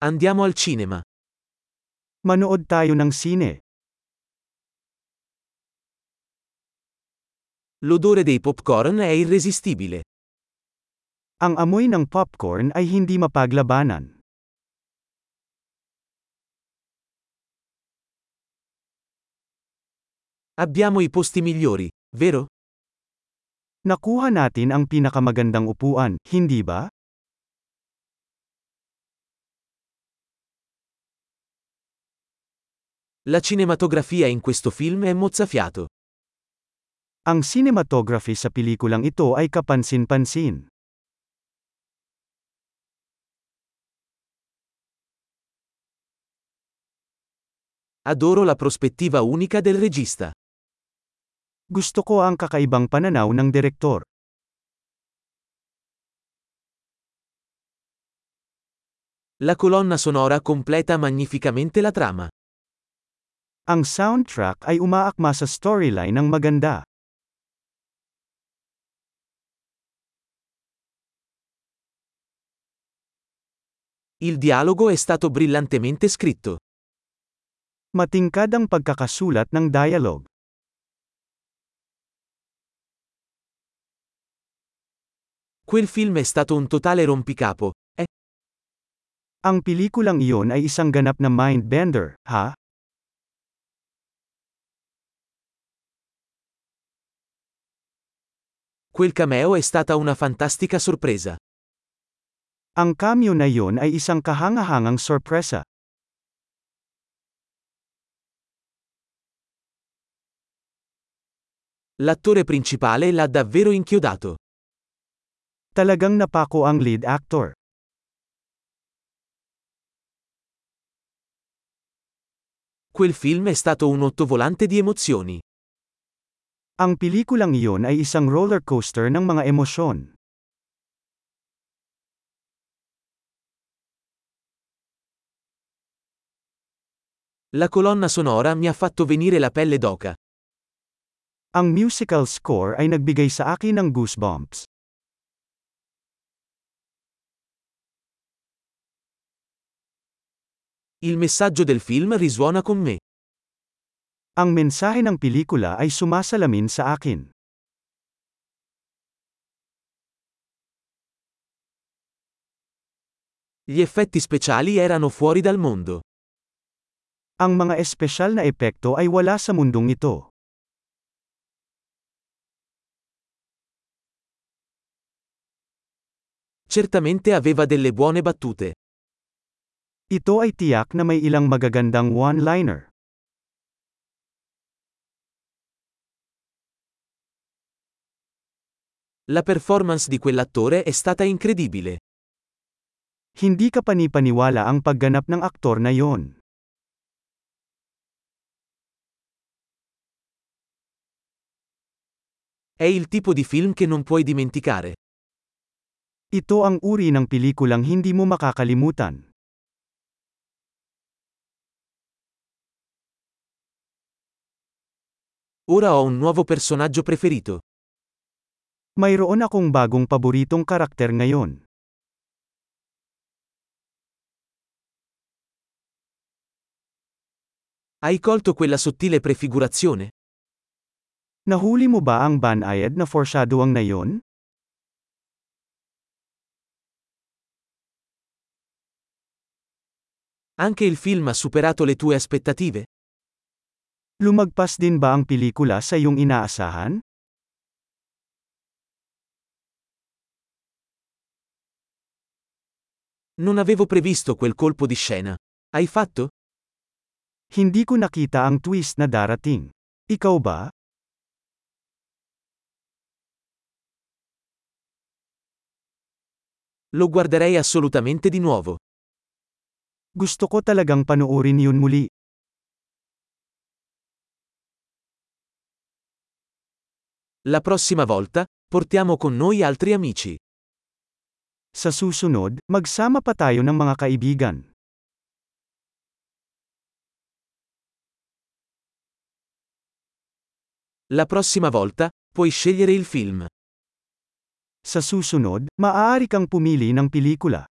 Andiamo al cinema. Manood tayo ng sine. L'odore dei popcorn è irresistibile. Ang amoy ng popcorn ay hindi mapaglabanan. Abbiamo i posti migliori, vero? Nakuha natin ang pinakamagandang upuan, hindi ba? La cinematografia in questo film è mozzafiato. Ang cinematography sa pelikulang ito ay kapansin-pansin. Adoro la prospettiva unica del regista. Gusto ko ang kakaibang pananaw ng direktor. La colonna sonora completa magnificamente la trama. Ang soundtrack ay umaakma sa storyline ng maganda. Il dialogo è stato brillantemente scritto. Matingkad ang pagkakasulat ng dialogue. Quel film è stato un totale rompicapo. Ang pelikulang iyon ay isang ganap na mind-bender, ha? Quel cameo è stata una fantastica sorpresa. Ang cameo na iyon ay isang kahangahangang sorpresa. L'attore principale l'ha davvero inchiodato. Talagang napako ang lead actor. Quel film è stato un ottovolante di emozioni. Ang pelikulang iyon ay isang roller coaster ng mga emosyon. La colonna sonora mi ha fatto venire la pelle d'oca. Ang musical score ay nagbigay sa akin ng goosebumps. Il messaggio del film risuona con me. Ang mensahe ng pelikula ay sumasalamin sa akin. Gli effetti speciali erano fuori dal mondo. Ang mga espesyal na epekto ay wala sa mundong ito. Certamente aveva delle buone battute. Ito ay tiyak na may ilang magagandang one-liner. La performance di quell'attore è stata incredibile. Hindi ka panipaniwala ang pagganap ng aktor na yon. È il tipo di film che non puoi dimenticare. Ito ang uri ng pelikulang hindi mo makakalimutan. Ora ho un nuovo personaggio preferito. Mayroon akong bagong paboritong karakter ngayon. Hai colto quella sottile prefigurazione? Nahuli mo ba ang banayad na foreshadowing na yon? Anche il film ha superato le tue aspettative? Lumagpas din ba ang pelikula sa iyong inaasahan? Non avevo previsto quel colpo di scena. Hai fatto? Hindi ko nakita ang twist na darating. Ikaw ba? Lo guarderei assolutamente di nuovo. Gusto ko talagang panoorin yun muli. La prossima volta, portiamo con noi altri amici. Sa susunod, magsama pa tayo ng mga kaibigan. La prossima volta, puoi scegliere il film. Sa susunod, maaari kang pumili ng pelikula.